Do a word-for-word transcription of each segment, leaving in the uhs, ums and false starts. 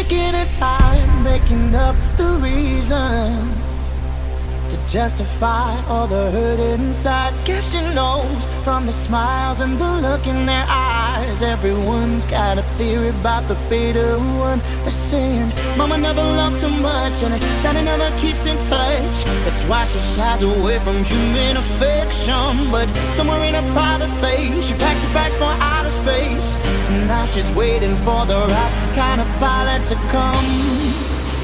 taking her time, making up the reasons to justify all the hurt inside. Guess she knows from the smiles and the look in their eyes. Everyone's got a theory about the bitter one. They're saying mama never loved too much and daddy never keeps in touch. That's why she shies away from human affection. But somewhere in a private place, she packs her bags for outer space. And now she's waiting for the right kind of pilot to come.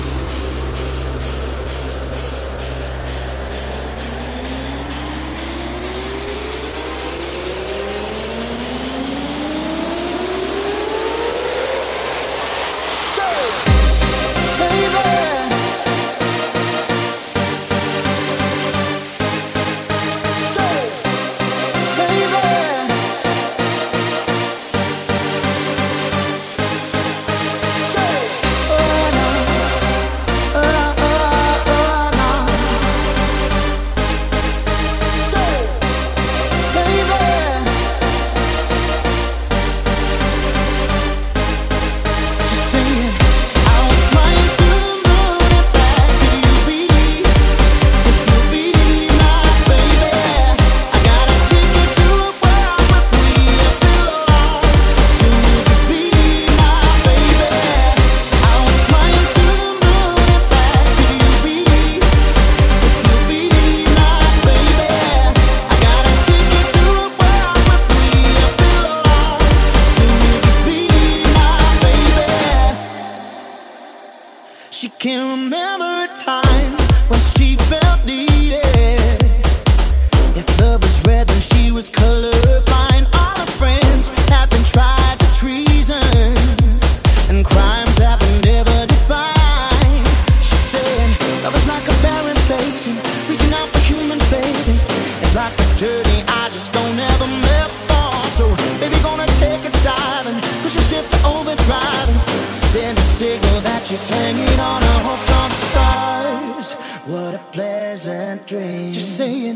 She can't remember a time when she felt needed. If love was red, then she was colorblind. All her friends have been tried for treason and crimes that were never defined. She said, love is like a barren place and reaching out for human babies. It's like a journey I just don't ever live for. So baby, gonna take a dive and push a ship to overdrive and send a signal that she's hanging on her hopes on the stars. What a pleasant dream. Just saying.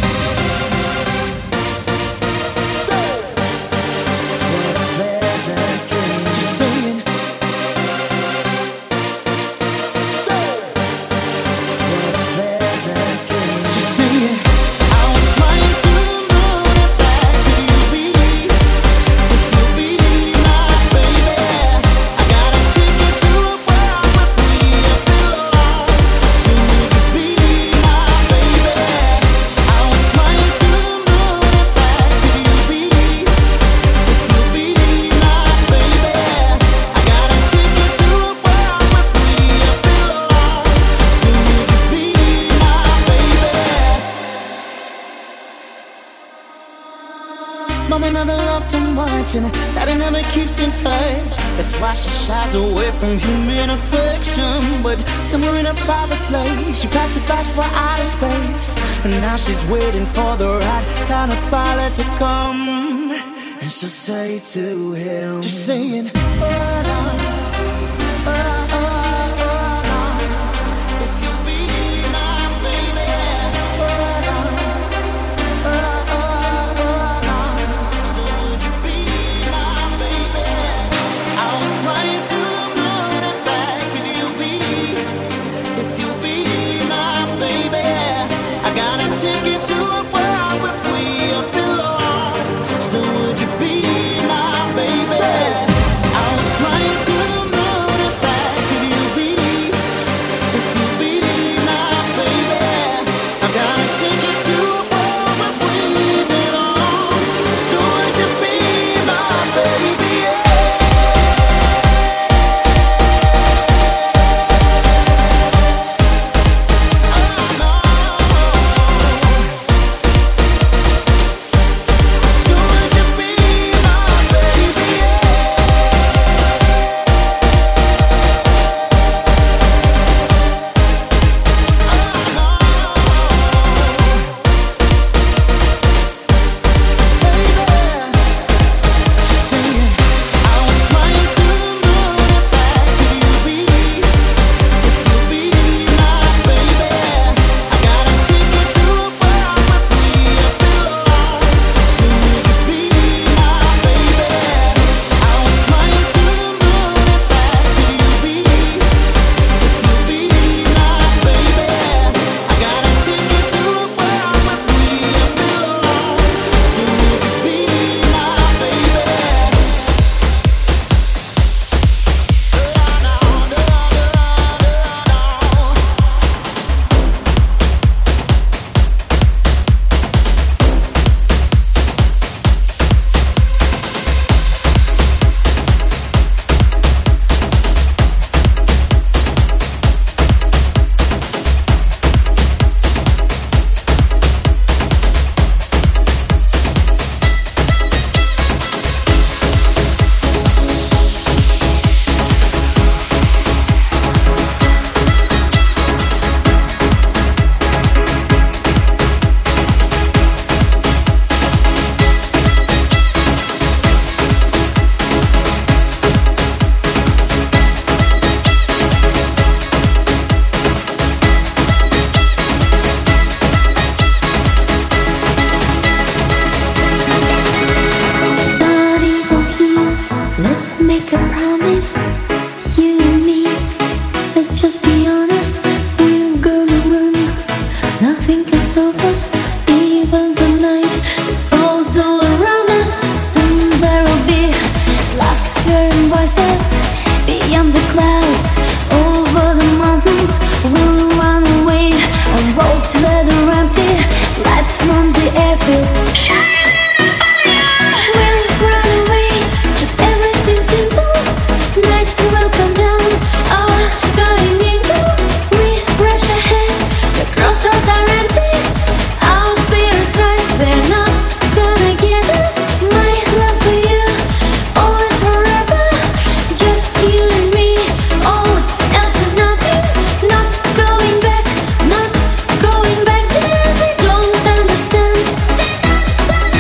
So, what a pleasant dream. Just saying. So, what a pleasant dream. Just saying. I'll fly to the moon and back to you, baby. If you'll be my baby, I got a ticket to a world where we belong. So would you be my baby? I'll fly to the moon and back to you, baby. If you'll be my baby, I got a ticket to a world where we belong. So would you be my baby? Mama never loved too much and daddy never keeps in touch. That's why she shies away from human affection. But somewhere in a private place, she packs her bags for outer space. And now she's waiting for the right kind of pilot to come. And she'll say to him, just saying, oh, no, oh, oh, oh, no. If you'll be my baby, oh, no, oh, oh, oh, no. So would you be my baby? I'll fly to the moon and back if you be, if you be my baby. I got a ticket to a world where we belong. So would you be my baby? I'll fly Don't understand.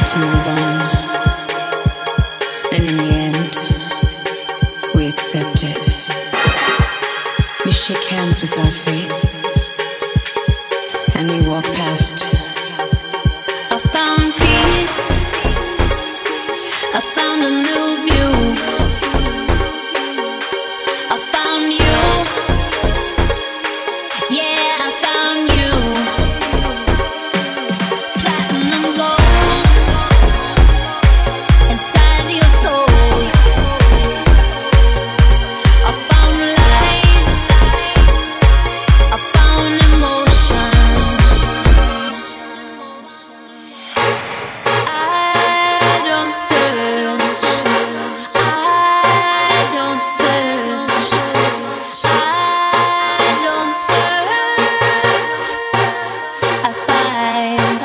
to move on. And in the end, we accept it. We shake hands with our fate. And we walk past. I found peace. I found a new view. I found you. Yeah, I found you. Platinum gold inside your soul. I found light. I found emotion. I don't search. I don't search. I don't search. I find.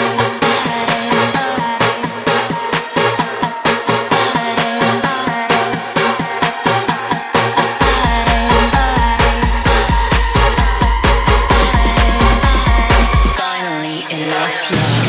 Finally, enough love.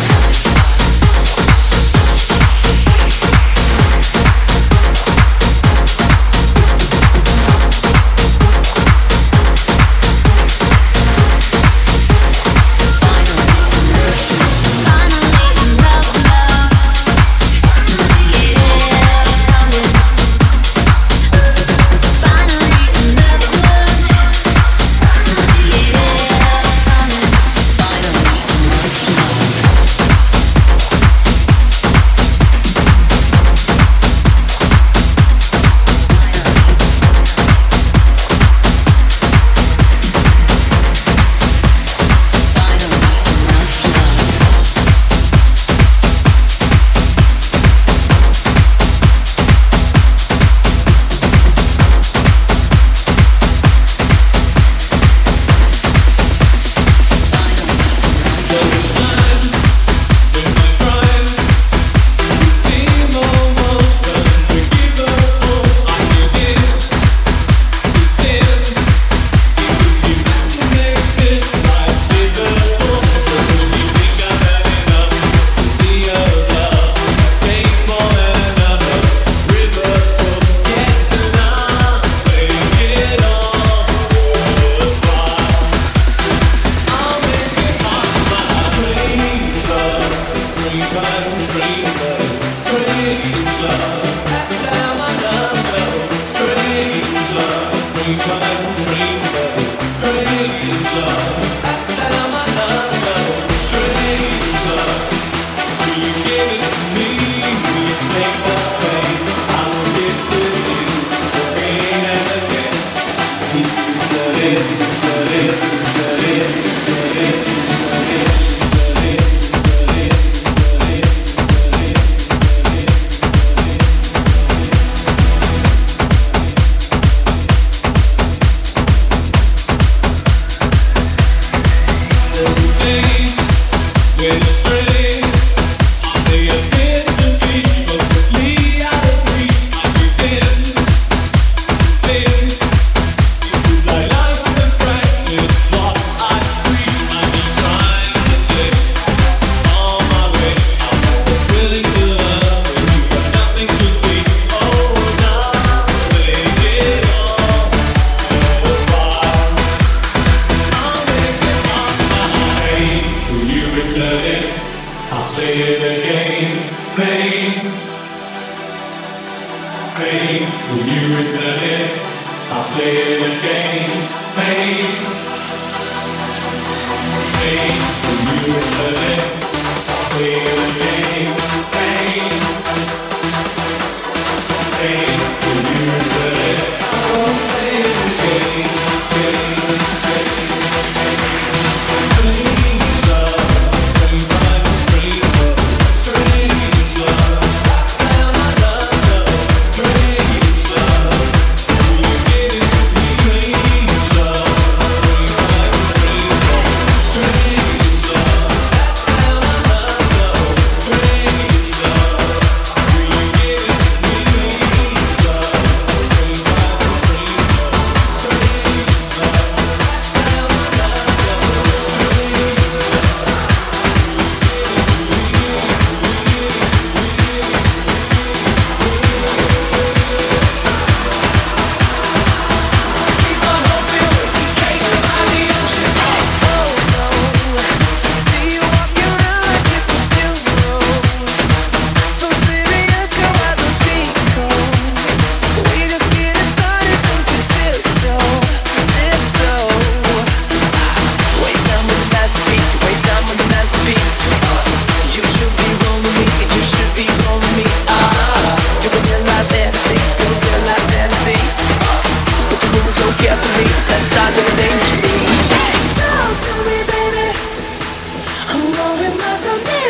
Strange love.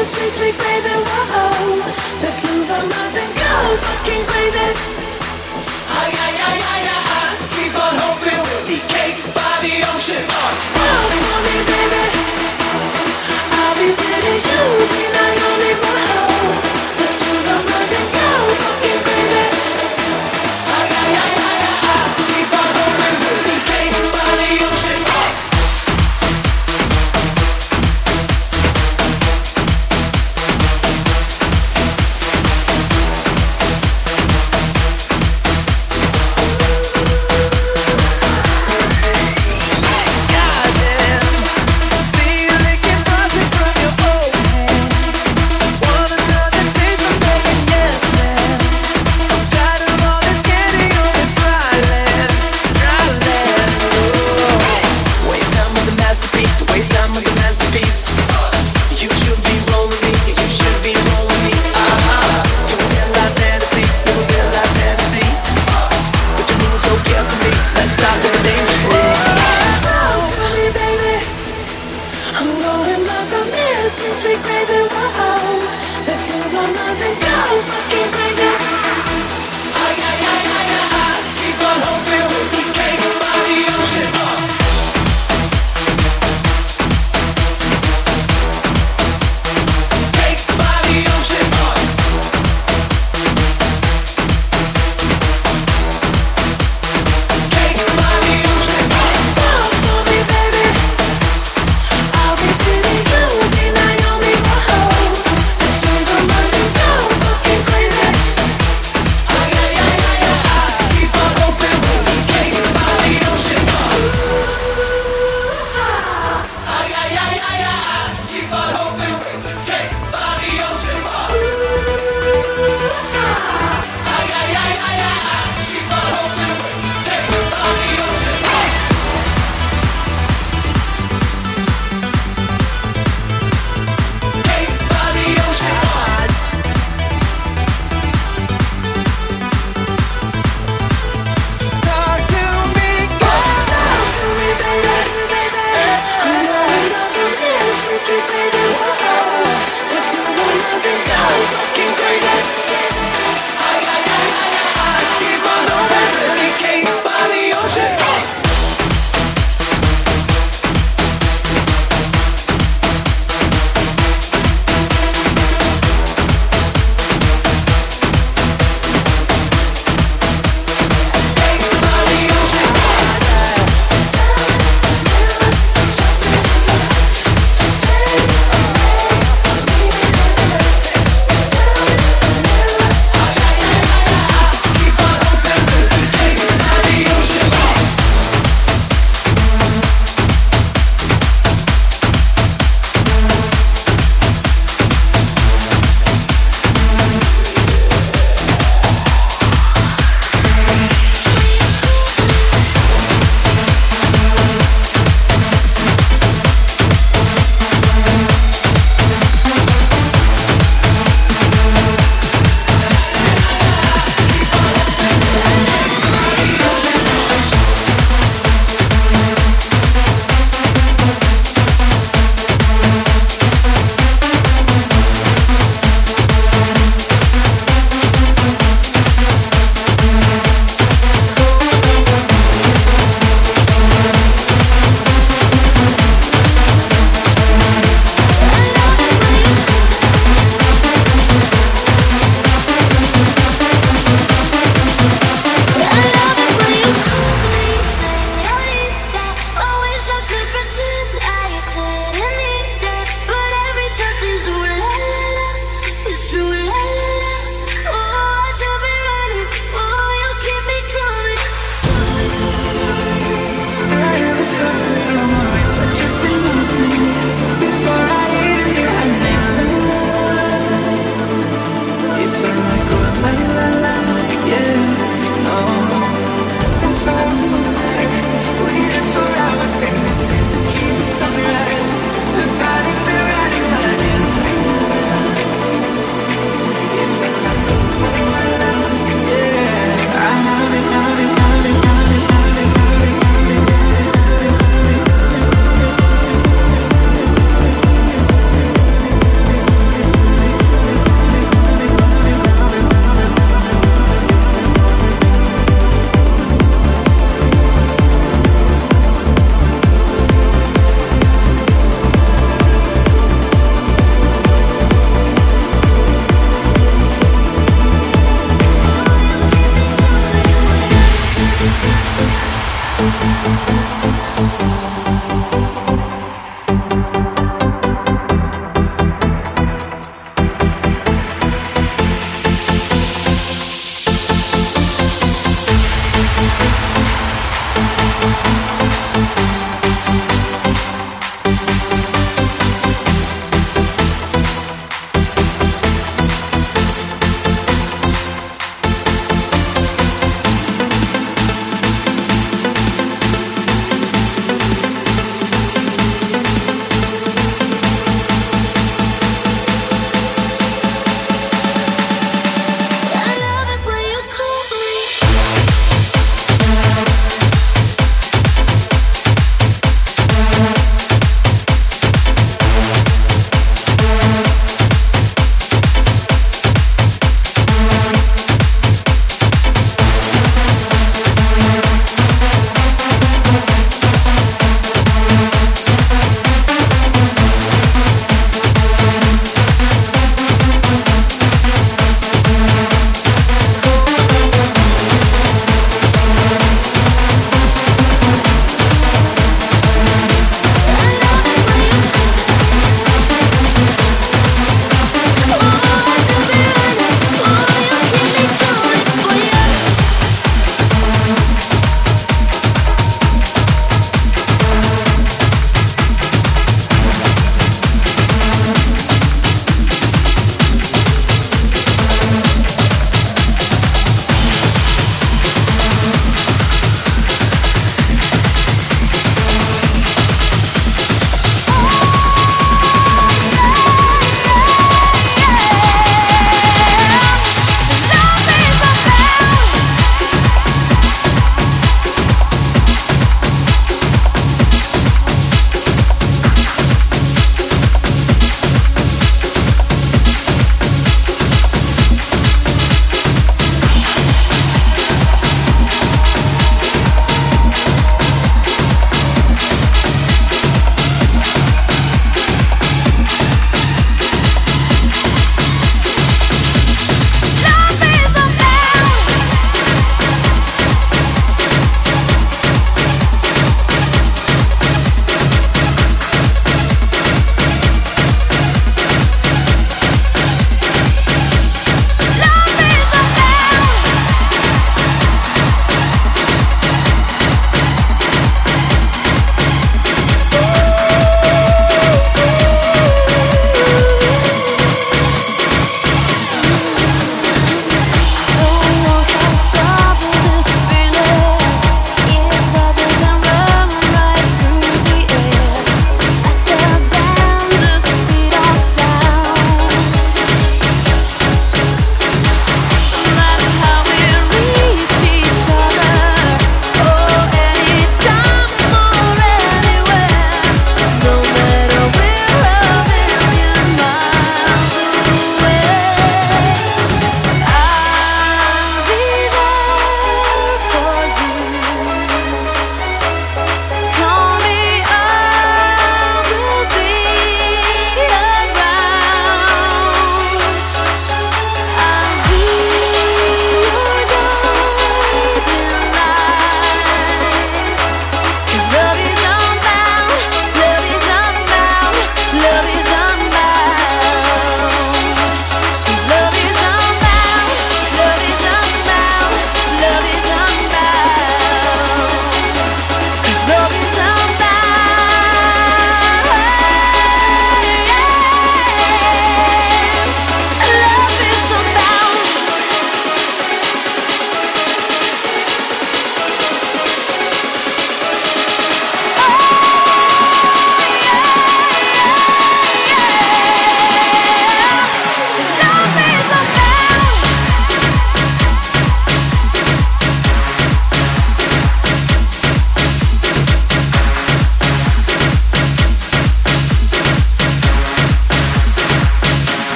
this, sweet, sweet baby, whoa. Let's lose our minds and go fucking crazy. Ay, ay, ay, ay, ay, ay. Keep on hoping we'll be caked by the ocean. Whoa, for me, baby. I'll be pretty, you be Naomi, whoa. Let's lose our minds and go fucking crazy. Ay, ay, ay, ay, ay, ay. Keep on hoping we'll be caked by the ocean.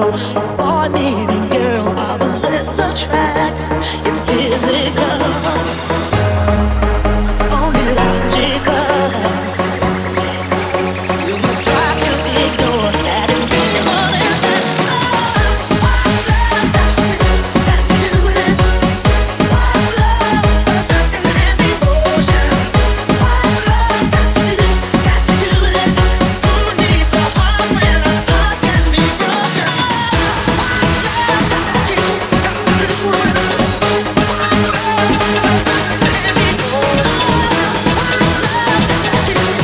Boy meeting girl, opposites attract. It's physical, only logical. You must try to ignore that it means more than that. What's love got to do, got to do with it? What's love but something and devotion? What's love got to do, got to do with it? Who needs a heart when a heart can be broken? What's love got to do, got to do with it? What's love but something and devotion? What's love got to do, got to do with it? Who needs a heart when a heart can be broken?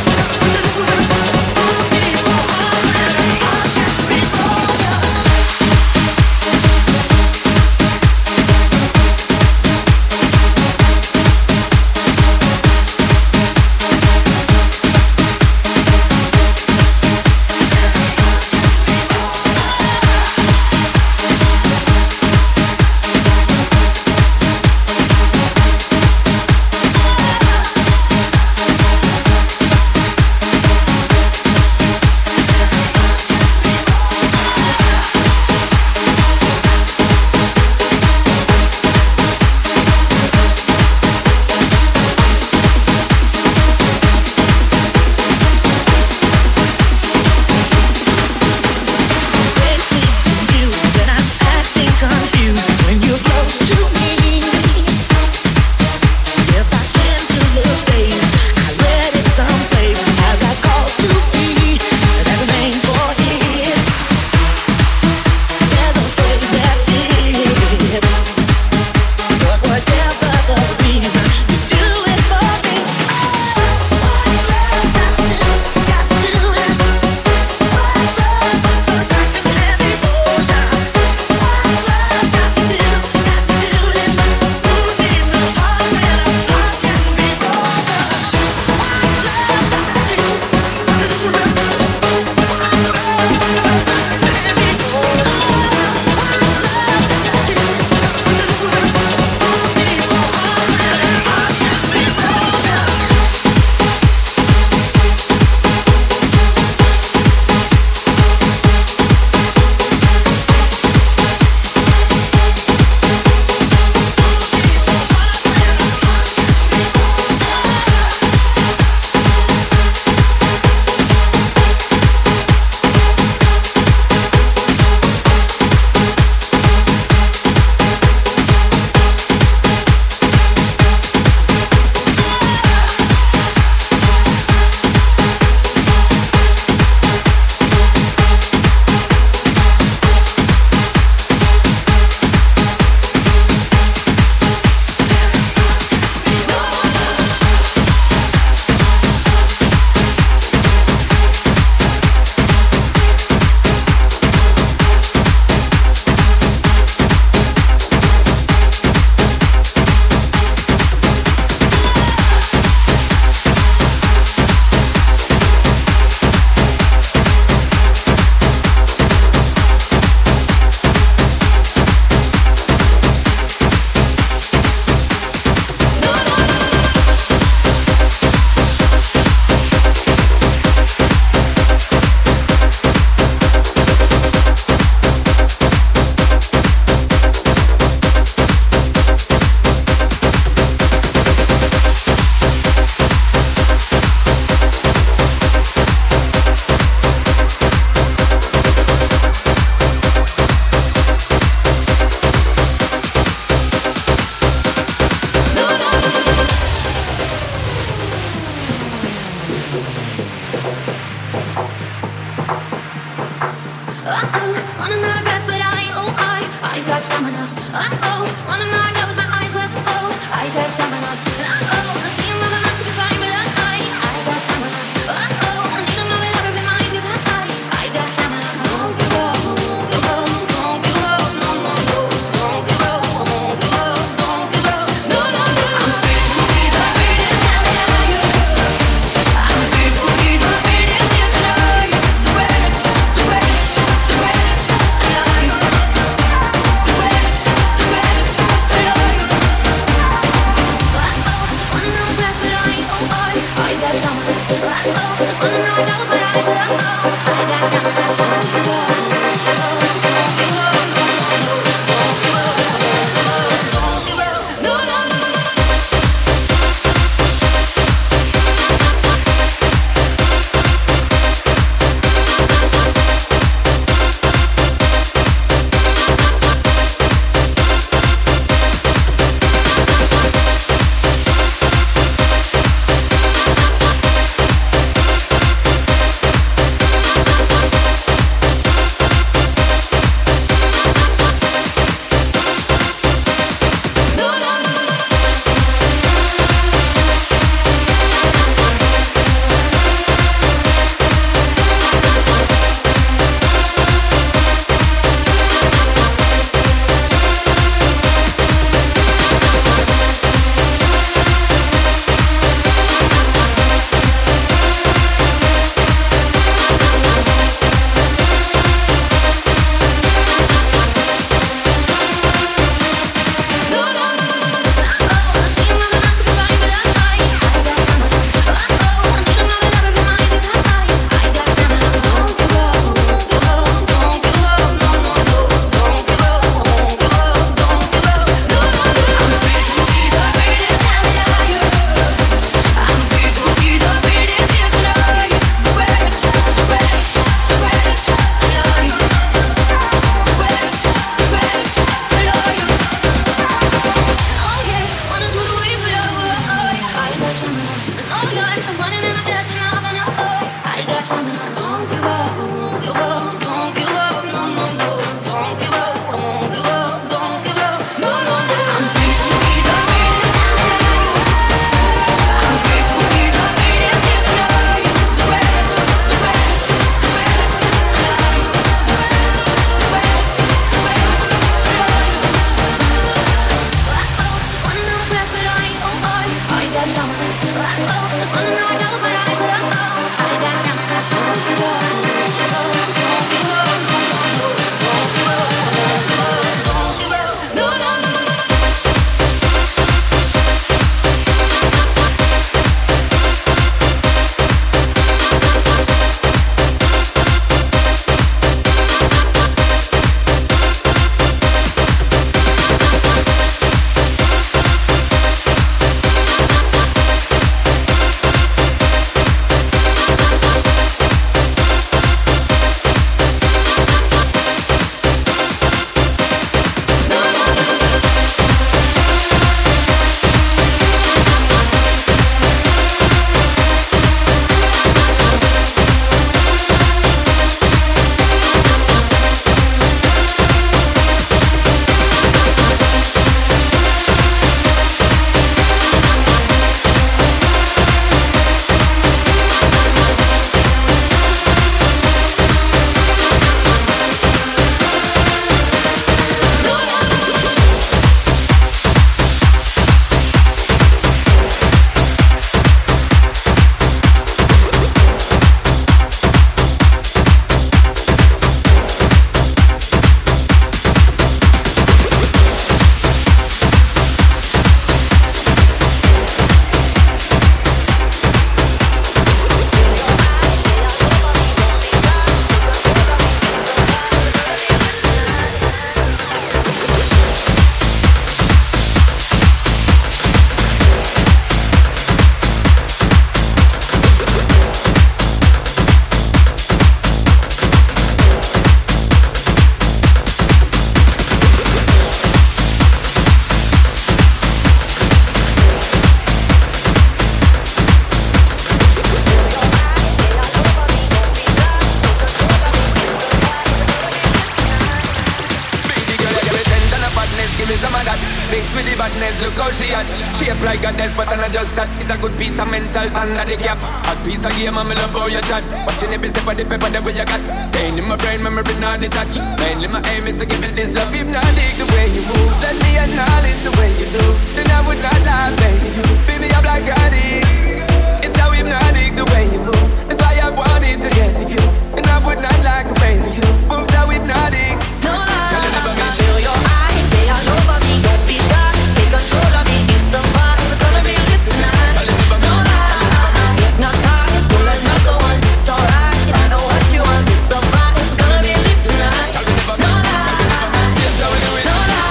Mixed with the badness, look how she at. Shape like a death, but I'm not just that. It's a good piece of mentals under the cap. A piece of game, I'm in love how you chat. Watching every step of the paper, the way you got. Staying in my brain, memory not detached. Mainly my aim is to give it this love. If not dig the way you move, let me acknowledge the way you do. Then I would not lie, baby. You beat me up like I did. It's how hypnotic the way you move. That's why I wanted to get to you. And I would not like a baby. You moves how hypnotic. No lie, feel your eyes, they all over me. Don't be shy, take control of me. It's the vibe, it's gonna be lit tonight. No lie, hypnotized, pull another one. It's alright, I know what you want. It's the vibe, it's gonna be lit tonight. No lie, no lie, no lie,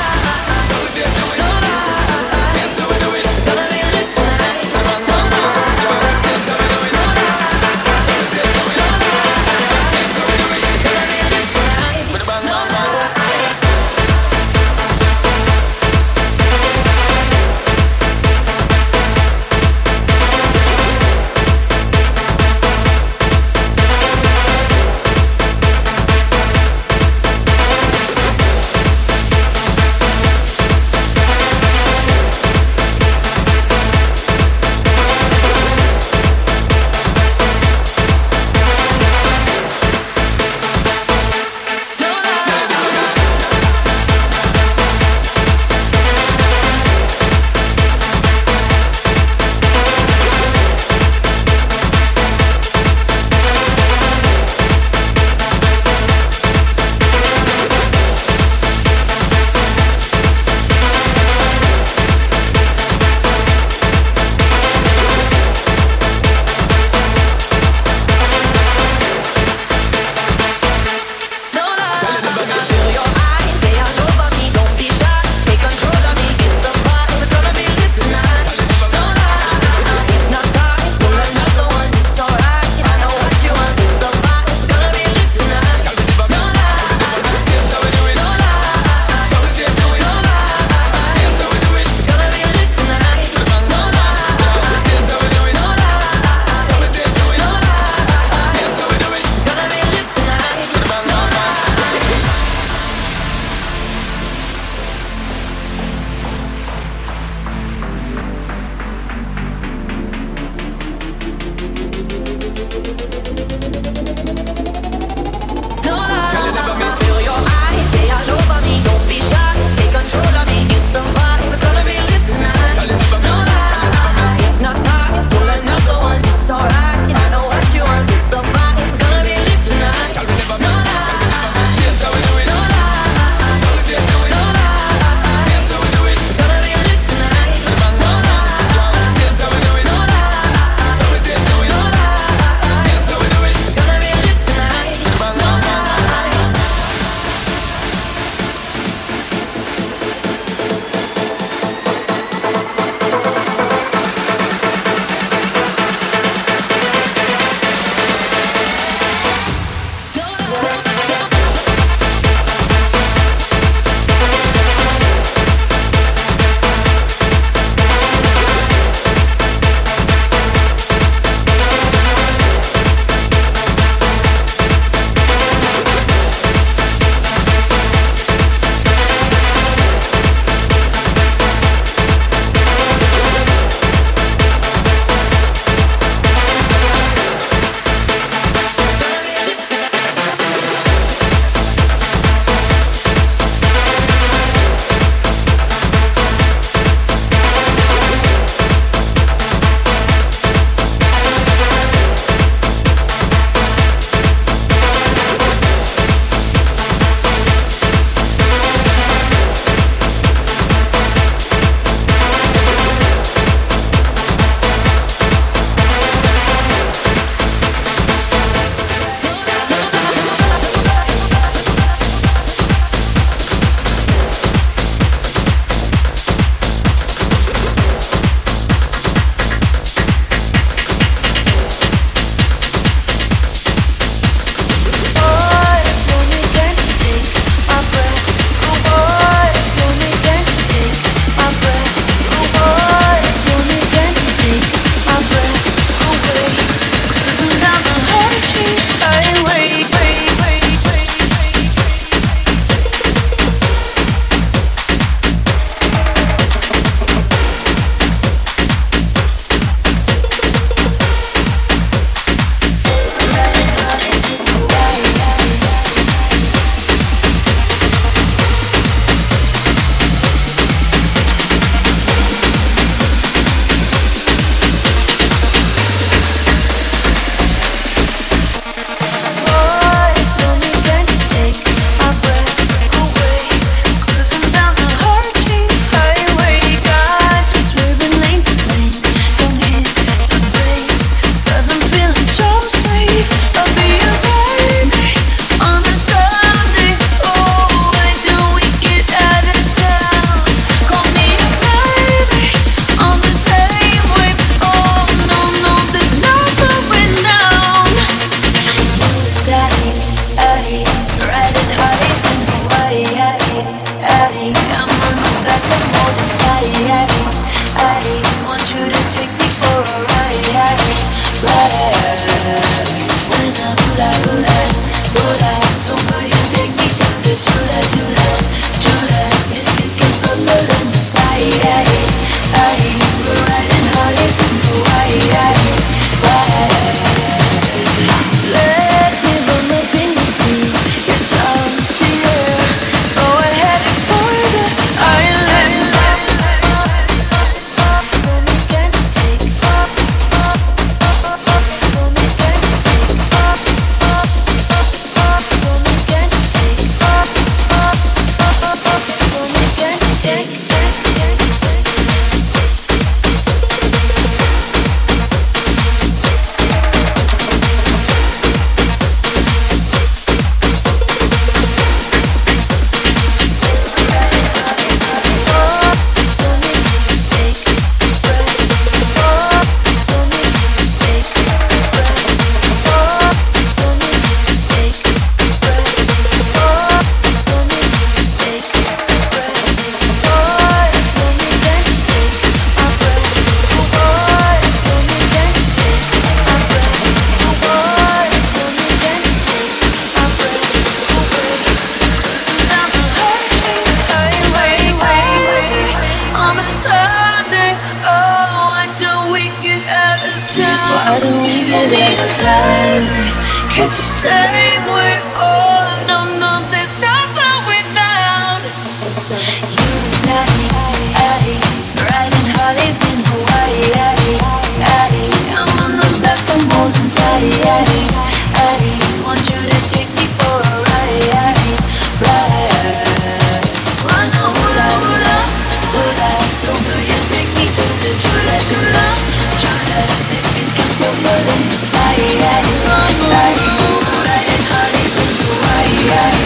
it's gonna be lit tonight. No lie, no lie, no lie. Can't you say we're on? No, no, there's no time without you and I. Riding Harleys in Hawaii. I'm on the back from holding tight. I want you to take me for a ride, ride. Wanna hula hula, hula. So will you take me to the chula chula, chula? Let's make it proper in the sky, sky. Riding Harleys in Hawaii.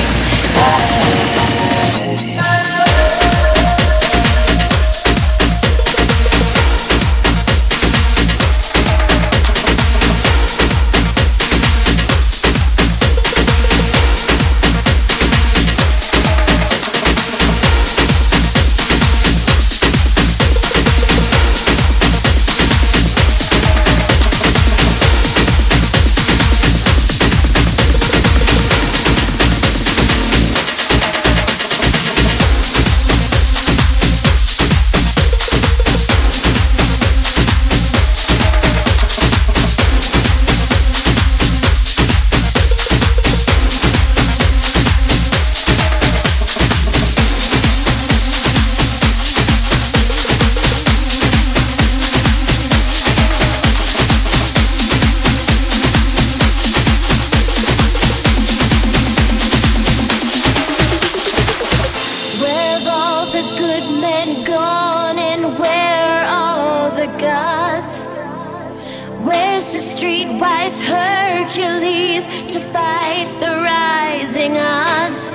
Hercules to fight the rising odds.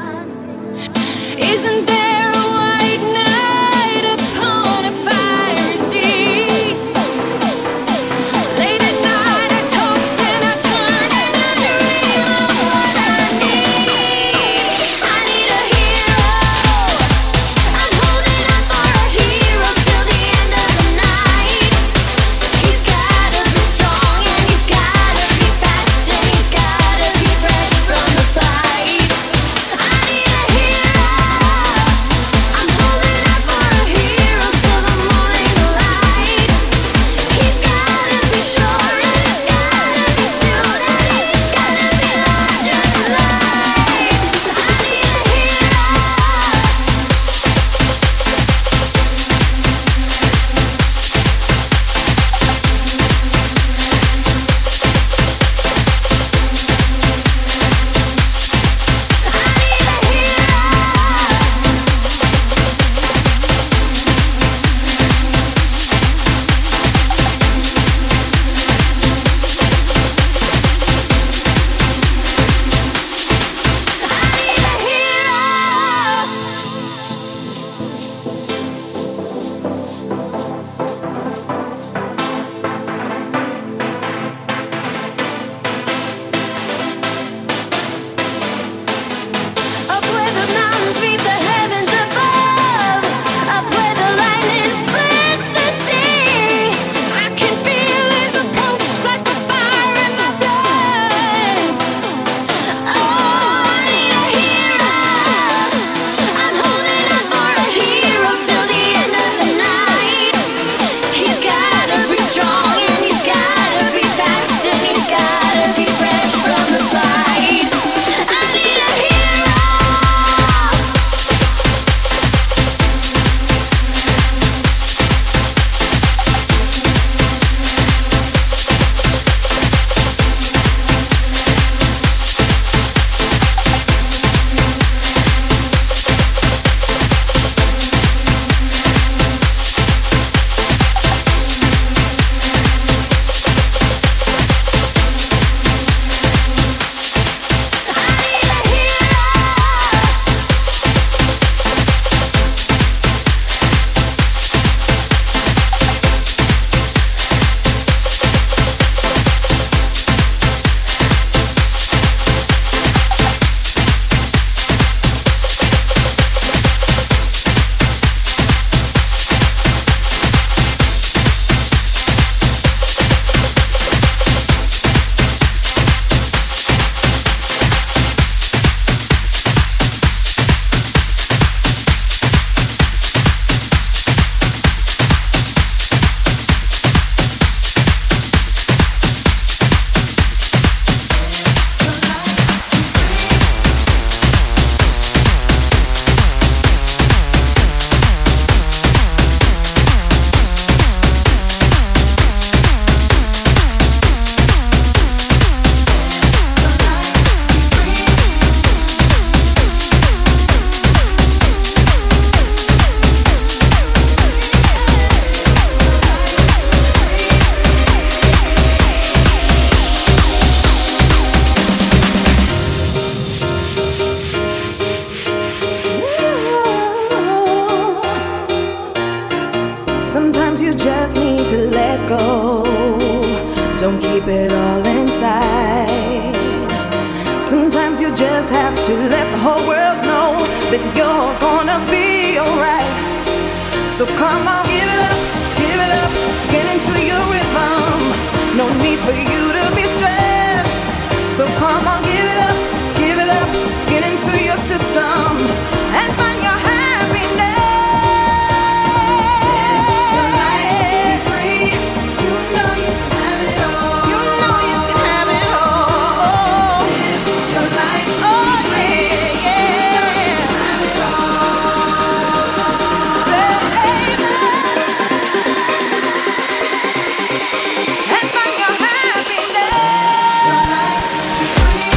Isn't there a white knight upon a fiery steed? Late at night I toss and I turn and I dream of what I need. I need a hero. I'm holding on for a hero till the end of the night. He's gotta be strong and he's gotta be fast and he's gotta be fresh from the fight. I need a hero. just have to let the whole world know that you're gonna be alright. So come on, give it up, give it up, get into your rhythm. No need for you to be stressed. So come on, give it up, give it up, get into your system and find your happiness. Your life be free. You know you can have it all. You know you can have it all. Your life be free. Yeah, yeah. Have it all. Baby. And find your happiness. Your life be free.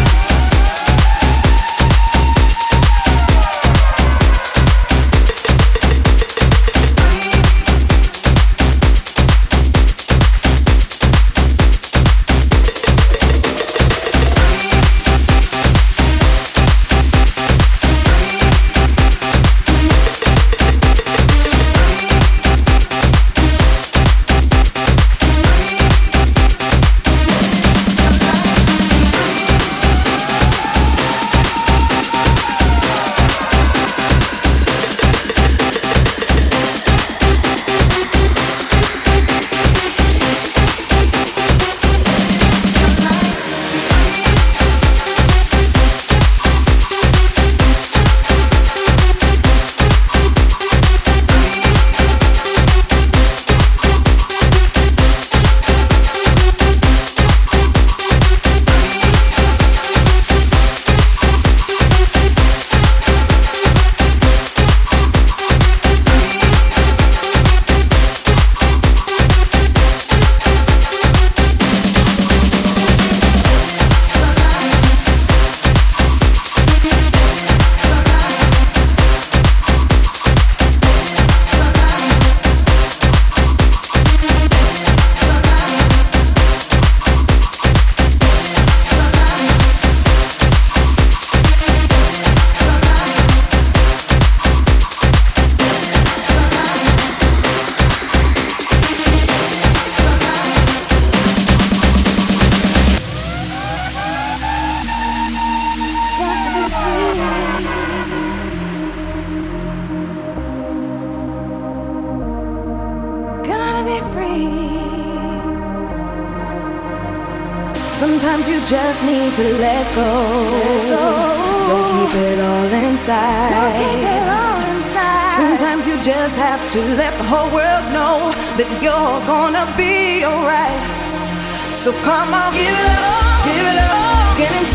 Sometimes you just need to let go. Don't keep it all inside. Don't keep it all inside. Sometimes you just have to let the whole world know that you're gonna be alright. So come on, give it up, give it up, get into